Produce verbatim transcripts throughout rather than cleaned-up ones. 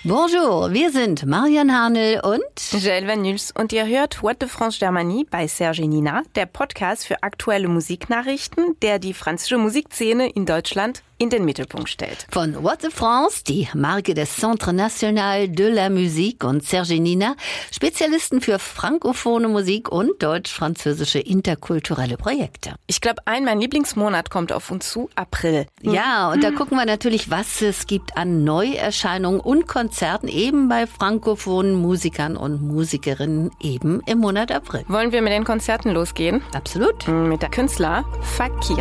Bonjour, wir sind Marian Harnel und Joël Van Nuls und ihr hört What de France Germanie bei Serge Nina, der Podcast für aktuelle Musiknachrichten, der die französische Musikszene in Deutschland in den Mittelpunkt stellt. Von What de France, die Marke des Centre National de la Musique, und Serge Nina, Spezialisten für frankophone Musik und deutsch-französische interkulturelle Projekte. Ich glaube, ein mein Lieblingsmonat kommt auf uns zu, April. Ja, und da gucken wir natürlich, was es gibt an Neuerscheinungen und Konzerten eben bei frankophonen Musikern und Musikerinnen eben im Monat April. Wollen wir mit den Konzerten losgehen? Absolut. Mit der Künstler Fakir.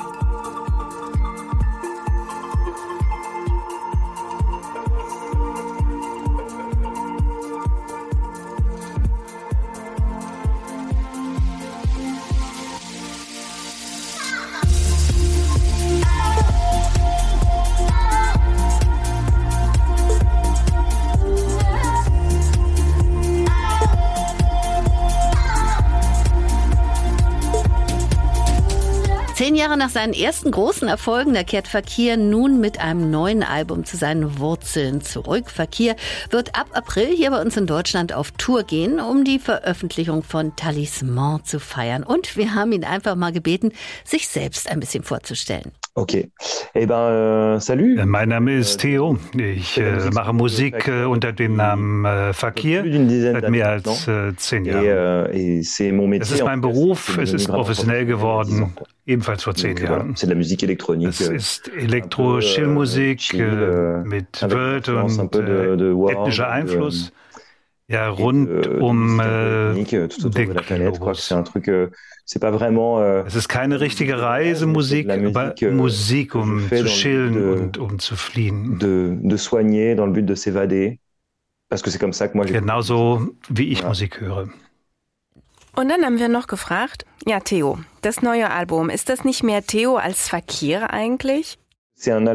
Zehn Jahre nach seinen ersten großen Erfolgen, da kehrt Fakir nun mit einem neuen Album zu seinen Wurzeln zurück. Fakir wird ab April hier bei uns in Deutschland auf Tour gehen, um die Veröffentlichung von Talisman zu feiern. Und wir haben ihn einfach mal gebeten, sich selbst ein bisschen vorzustellen. Okay. Eh ben, äh, salut. Mein Name ist Theo. Ich äh, mache Musik äh, unter dem Namen äh, Fakir seit mehr als äh, zehn Jahren. Es ist mein Beruf, es ist professionell geworden, ebenfalls vor zehn Jahren. Es ist Elektro-Chill-Musik äh, mit World und äh, ethnischer Einfluss. Ja, rund um äh, den Globus. Es ist keine richtige Reisemusik, aber Musik, um zu chillen und um zu fliehen. Genauso wie ich Musik höre. Und dann haben wir noch gefragt, ja Theo, das neue Album, ist das nicht mehr Theo als Fakir eigentlich? Das äh,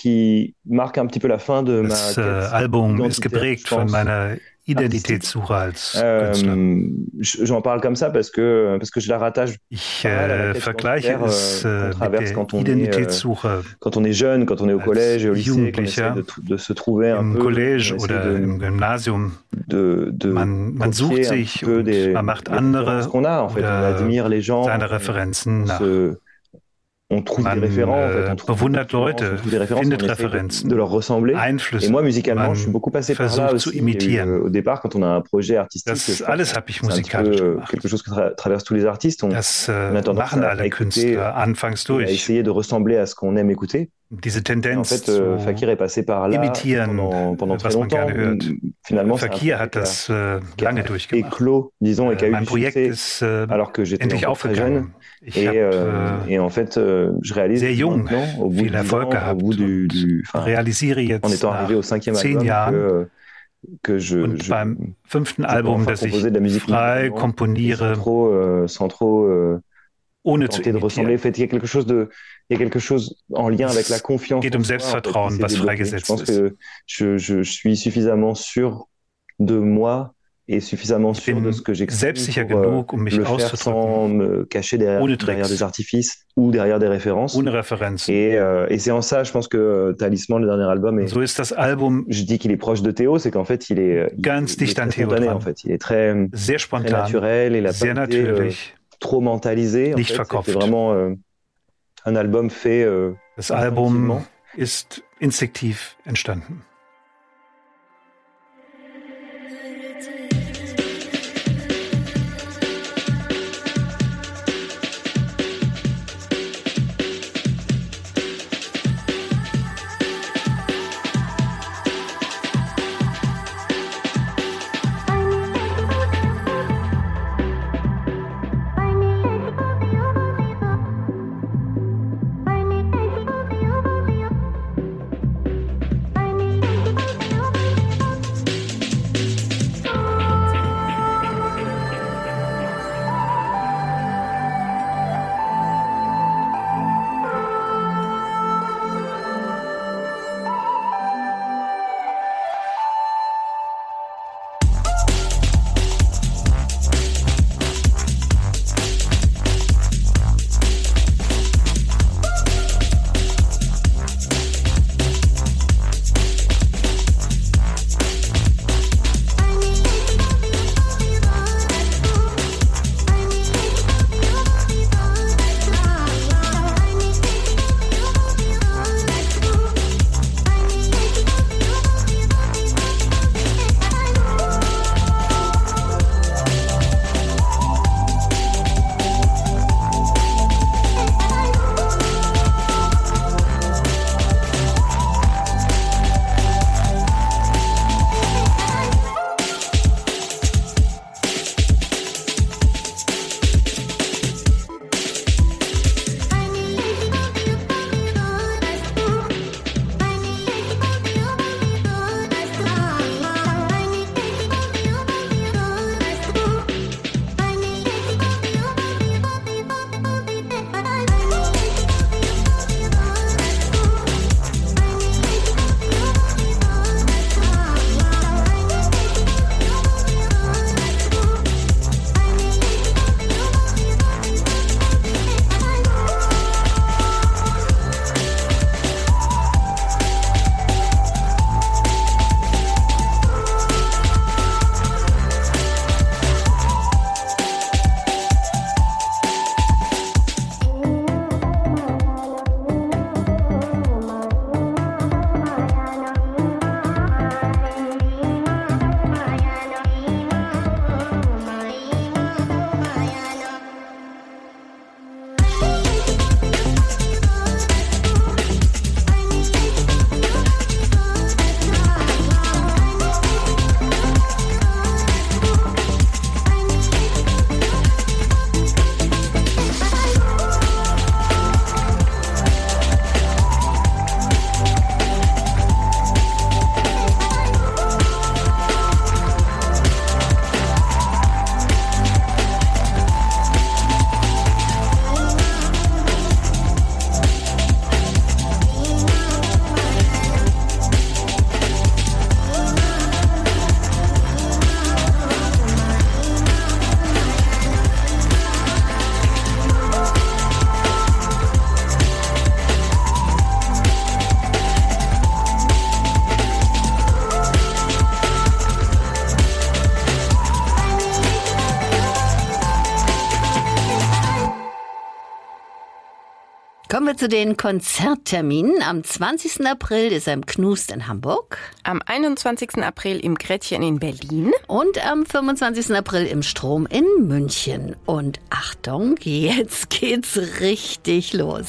Album ist geprägt von meiner Identitätssuche als Künstler. Ich äh, vergleiche es äh, mit der Identitätssuche als Jugendlicher im College oder im Gymnasium. Man, man sucht sich und man macht andere oder seine Referenzen nach. Man äh, bewundert Leute, findet Referenzen, Einflüsse, man versucht zu imitieren. Das alles habe ich musikalisch gemacht. Das äh, machen alle Künstler anfangs durch. Diese Tendenz zu imitieren, was man gerne hört. Fakir hat das äh, lange durchgemacht. Äh, mein Projekt ist äh, endlich aufgegangen. Ich habe äh, sehr jung viel Erfolg gehabt und realisiere jetzt nach zehn Jahren und beim fünften Album, das ich frei komponiere, ohne zu imitieren. Es geht um Selbstvertrauen, was freigesetzt ist. Ich bin selbstsicher genug, um mich auszudrücken, ohne Tricks, ohne Referenzen. So ist das Album ganz dicht an Theo dran, sehr spontan, sehr natürlich, nicht verkopft. Das Album ist instinktiv entstanden. Kommen wir zu den Konzertterminen. Am zwanzigsten April ist er im Knust in Hamburg. Am einundzwanzigsten April im Gretchen in Berlin. Und am fünfundzwanzigsten April im Strom in München. Und Achtung, jetzt geht's richtig los.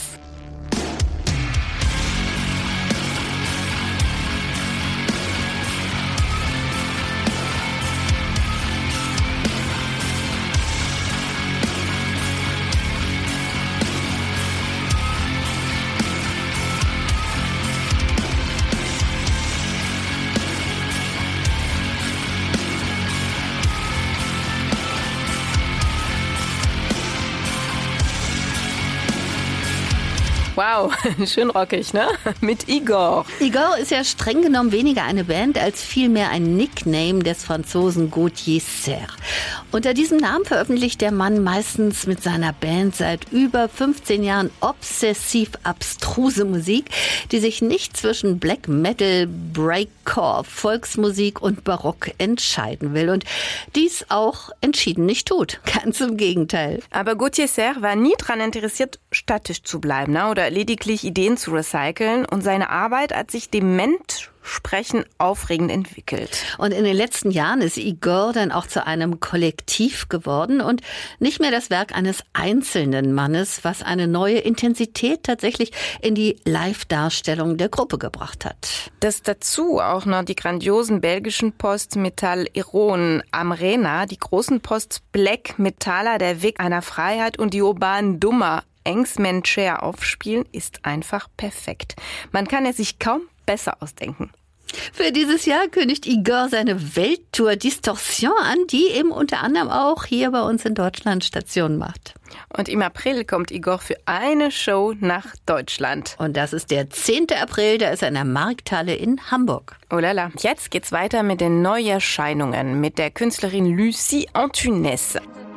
Wow, schön rockig, ne? Mit Igor. Igor ist ja streng genommen weniger eine Band als vielmehr ein Nickname des Franzosen Gauthier Serre. Unter diesem Namen veröffentlicht der Mann meistens mit seiner Band seit über fünfzehn Jahren obsessiv abstruse Musik, die sich nicht zwischen Black Metal, Breakcore, Volksmusik und Barock entscheiden will. Und dies auch entschieden nicht tut. Ganz im Gegenteil. Aber Gauthier Serre war nie daran interessiert, statisch zu bleiben, ne? Oder lediglich Ideen zu recyceln, und seine Arbeit hat sich dement Sprechen aufregend entwickelt. Und in den letzten Jahren ist Igor dann auch zu einem Kollektiv geworden und nicht mehr das Werk eines einzelnen Mannes, was eine neue Intensität tatsächlich in die Live-Darstellung der Gruppe gebracht hat. Dass dazu auch noch die grandiosen belgischen Post-Metall-Ironen Amrena, die großen Post-Black-Metaller Der Weg einer Freiheit und die urbanen Dummer Engsmencher aufspielen, ist einfach perfekt. Man kann es sich kaum besser ausdenken. Für dieses Jahr kündigt Igor seine Welttour Distorsion an, die eben unter anderem auch hier bei uns in Deutschland Station macht. Und im April kommt Igor für eine Show nach Deutschland. Und das ist der zehnten April, da ist er in der Markthalle in Hamburg. Oh lala, jetzt geht's weiter mit den Neuerscheinungen, mit der Künstlerin Lucie Antunes.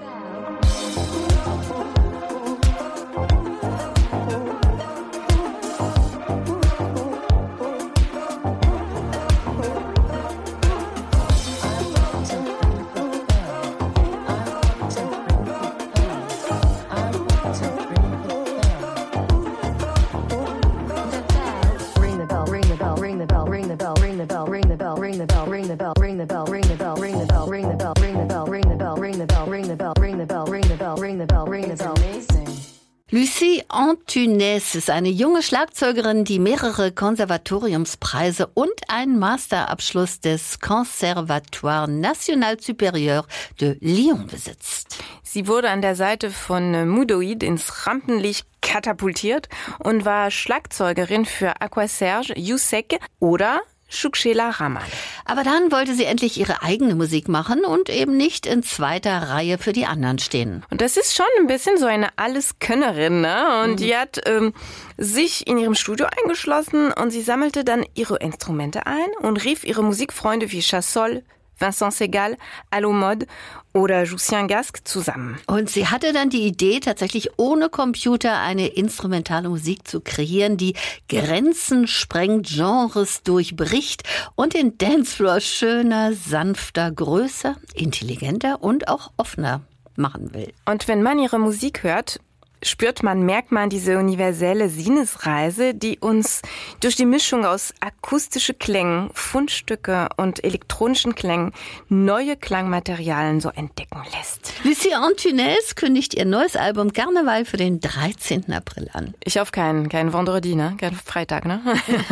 Lucie Antunes ist eine junge Schlagzeugerin, die mehrere Konservatoriumspreise und einen Masterabschluss des Conservatoire National Supérieur de Lyon besitzt. Sie wurde an der Seite von Mudoid ins Rampenlicht katapultiert und war Schlagzeugerin für Aqua Serge, Jusek oder Chouchela Ramal. Aber dann wollte sie endlich ihre eigene Musik machen und eben nicht in zweiter Reihe für die anderen stehen. Und das ist schon ein bisschen so eine Alleskönnerin, ne? Und mhm. die hat ähm, sich in ihrem Studio eingeschlossen und sie sammelte dann ihre Instrumente ein und rief ihre Musikfreunde wie Chassol, Vincent Segal, Allo Mode oder Lucien Gasque zusammen. Und sie hatte dann die Idee, tatsächlich ohne Computer eine instrumentale Musik zu kreieren, die Grenzen sprengt, Genres durchbricht und den Dancefloor schöner, sanfter, größer, intelligenter und auch offener machen will. Und wenn man ihre Musik hört, spürt man, merkt man diese universelle Sinnesreise, die uns durch die Mischung aus akustischen Klängen, Fundstücke und elektronischen Klängen neue Klangmaterialien so entdecken lässt. Lucie Antunes kündigt ihr neues Album Karneval für den dreizehnten April an. Ich hoffe kein, kein Vendredi, ne? Kein Freitag, ne?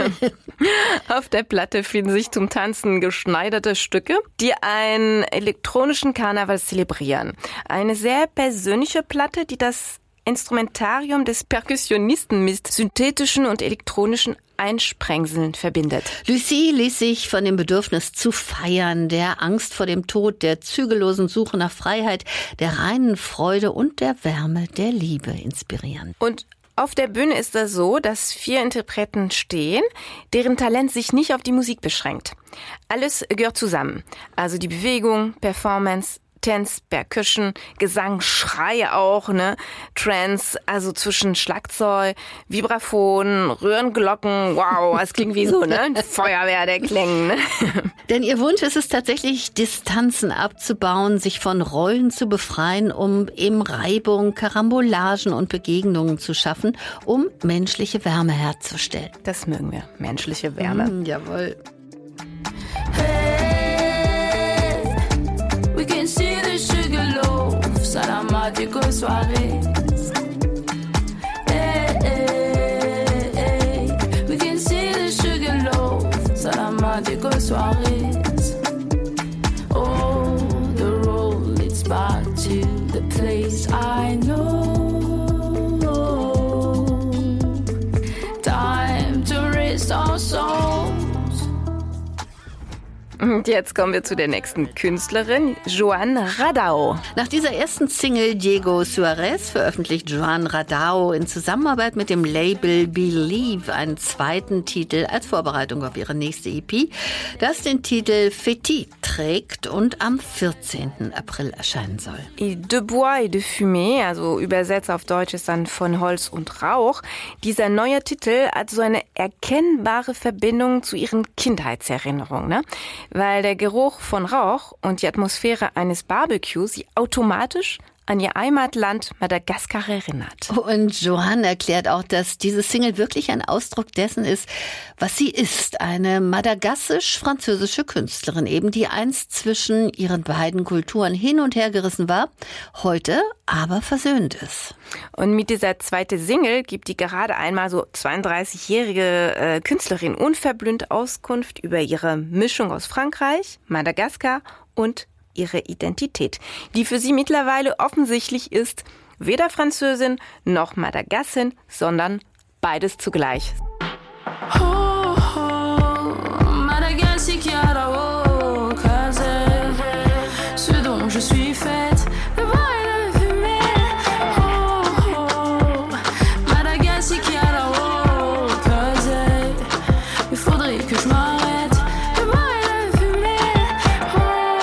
Auf der Platte finden sich zum Tanzen geschneiderte Stücke, die einen elektronischen Karneval zelebrieren. Eine sehr persönliche Platte, die das Instrumentarium des Perkussionisten mit synthetischen und elektronischen Einsprengseln verbindet. Lucie ließ sich von dem Bedürfnis zu feiern, der Angst vor dem Tod, der zügellosen Suche nach Freiheit, der reinen Freude und der Wärme der Liebe inspirieren. Und auf der Bühne ist das so, dass vier Interpreten stehen, deren Talent sich nicht auf die Musik beschränkt. Alles gehört zusammen. Also die Bewegung, Performance, Dance, Percussion, Gesang, Schreie auch, ne? Trance, also zwischen Schlagzeug, Vibraphon, Röhrenglocken, wow, es klingt wie so, ne? Feuerwehr der Klänge, ne? Denn ihr Wunsch ist es tatsächlich, Distanzen abzubauen, sich von Rollen zu befreien, um eben Reibung, Karambolagen und Begegnungen zu schaffen, um menschliche Wärme herzustellen. Das mögen wir, menschliche Wärme. Mm, jawohl. Hey, we can see the sugar loaves at our magical soirees. Hey, hey, hey, we can see the sugar loaves at our magical soirees. Oh, the road leads back to the place I know. Time to rest our souls. Und jetzt kommen wir zu der nächsten Künstlerin, Joan Radau. Nach dieser ersten Single Diego Suarez veröffentlicht Joan Radau in Zusammenarbeit mit dem Label Believe einen zweiten Titel als Vorbereitung auf ihre nächste E P, das den Titel Fétis trägt und am vierzehnten April erscheinen soll. De Bois et de Fumée, also übersetzt auf Deutsch ist dann von Holz und Rauch. Dieser neue Titel hat so eine erkennbare Verbindung zu ihren Kindheitserinnerungen, ne? Weil der Geruch von Rauch und die Atmosphäre eines Barbecues sie automatisch an ihr Heimatland Madagaskar erinnert. Und Joan erklärt auch, dass diese Single wirklich ein Ausdruck dessen ist, was sie ist. Eine madagassisch-französische Künstlerin, eben die einst zwischen ihren beiden Kulturen hin und her gerissen war, heute aber versöhnt ist. Und mit dieser zweiten Single gibt die gerade einmal so zweiunddreißigjährige äh, Künstlerin unverblümt Auskunft über ihre Mischung aus Frankreich, Madagaskar und ihre Identität, die für sie mittlerweile offensichtlich ist, weder Französin noch Madagassin, sondern beides zugleich. Oh, oh, Madagascar qui a la haut casé, ce dont je suis faite, le bois et la fumée. Oh, oh, Madagascar qui a la haut casé, il faudrait que je m'arrête, le bois et la fumée. Oh,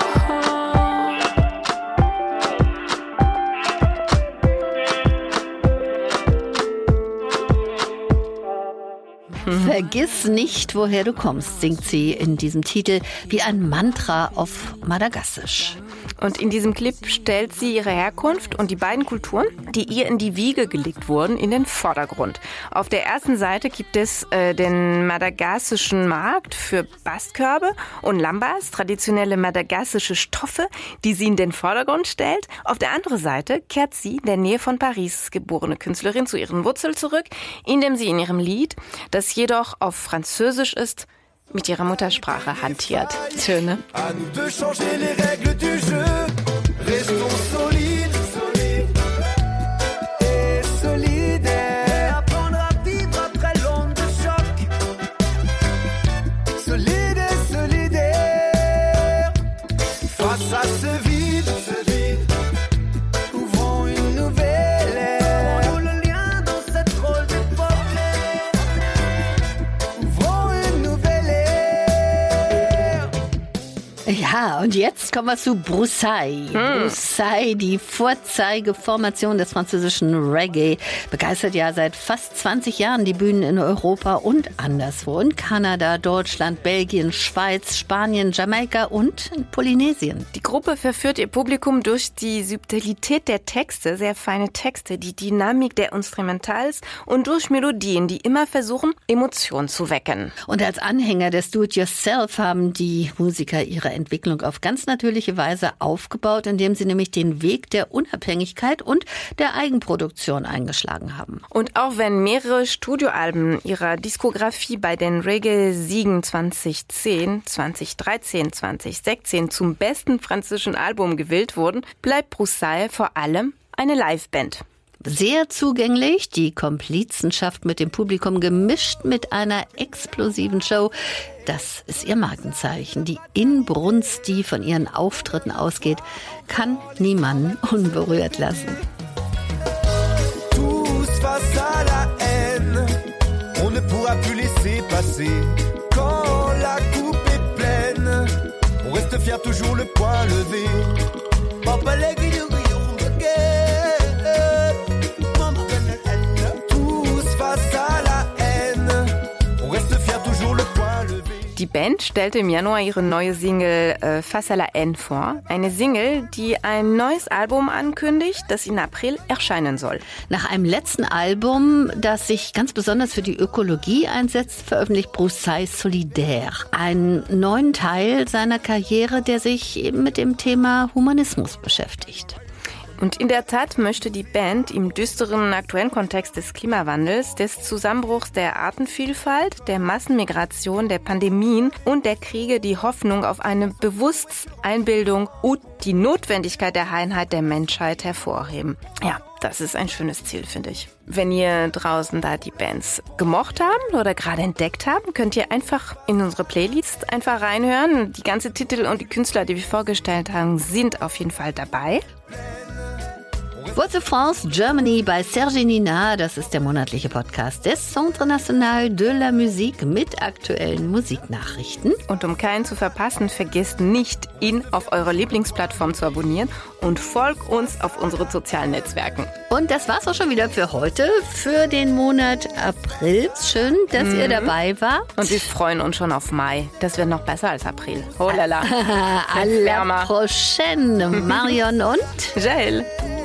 Vergiss nicht, woher du kommst, singt sie in diesem Titel wie ein Mantra auf Madagassisch. Und in diesem Clip stellt sie ihre Herkunft und die beiden Kulturen, die ihr in die Wiege gelegt wurden, in den Vordergrund. Auf der ersten Seite gibt es äh, den madagassischen Markt für Bastkörbe und Lambas, traditionelle madagassische Stoffe, die sie in den Vordergrund stellt. Auf der anderen Seite kehrt sie, in der Nähe von Paris geborene Künstlerin, zu ihren Wurzeln zurück, indem sie in ihrem Lied, das jedoch auf Französisch ist, mit ihrer Muttersprache hantiert. Schön, ne? À nous de changer les règles du jeu. Restons solides, solides et solidaires. Apprendre à vivre après l'onde de choc. Solide et solidaire. Face à ce vide, ce vide, ouvrons une nouvelle ère. Ouvrons le lien dans cette drôle d'époque. Ouvrons une nouvelle ère. Ja, und jetzt kommen wir zu Broussailles. Hm. Broussailles, die Vorzeigeformation des französischen Reggae, begeistert ja seit fast zwanzig Jahren die Bühnen in Europa und anderswo. In Kanada, Deutschland, Belgien, Schweiz, Spanien, Jamaika und in Polynesien. Die Gruppe verführt ihr Publikum durch die Subtilität der Texte, sehr feine Texte, die Dynamik der Instrumentals und durch Melodien, die immer versuchen, Emotionen zu wecken. Und als Anhänger des Do-it-yourself haben die Musiker ihre Entwicklung auf ganz natürliche Weise aufgebaut, indem sie nämlich den Weg der Unabhängigkeit und der Eigenproduktion eingeschlagen haben. Und auch wenn mehrere Studioalben ihrer Diskografie bei den Reggae-Siegen zweitausendzehn, zweitausenddreizehn, zweitausendsechzehn zum besten französischen Album gewählt wurden, bleibt Broussailles vor allem eine Liveband. Sehr zugänglich, die Komplizenschaft mit dem Publikum gemischt mit einer explosiven Show. Das ist ihr Markenzeichen. Die Inbrunst, die von ihren Auftritten ausgeht, kann niemanden unberührt lassen. Tous face à la haine, on ne pourra plus laisser passer. Quand la coupe est pleine, on reste fier, toujours le poing levé. Die Band stellte im Januar ihre neue Single äh, Face à la haine vor. Eine Single, die ein neues Album ankündigt, das in April erscheinen soll. Nach einem letzten Album, das sich ganz besonders für die Ökologie einsetzt, veröffentlicht Broussailles Solidaire. Einen neuen Teil seiner Karriere, der sich eben mit dem Thema Humanismus beschäftigt. Und in der Tat möchte die Band im düsteren aktuellen Kontext des Klimawandels, des Zusammenbruchs der Artenvielfalt, der Massenmigration, der Pandemien und der Kriege die Hoffnung auf eine Bewusstseinbildung und die Notwendigkeit der Einheit der Menschheit hervorheben. Ja, das ist ein schönes Ziel, finde ich. Wenn ihr draußen da die Bands gemocht haben oder gerade entdeckt haben, könnt ihr einfach in unsere Playlist einfach reinhören. Die ganzen Titel und die Künstler, die wir vorgestellt haben, sind auf jeden Fall dabei. Voix de France Germany bei Serge Nina, das ist der monatliche Podcast des Centre National de la Musique mit aktuellen Musiknachrichten. Und um keinen zu verpassen, vergesst nicht, ihn auf eurer Lieblingsplattform zu abonnieren und folgt uns auf unseren sozialen Netzwerken. Und das war's auch schon wieder für heute, für den Monat April. Schön, dass mhm. ihr dabei wart. Und wir freuen uns schon auf Mai. Das wird noch besser als April. Oh lala. À la prochaine, Marion und Jael.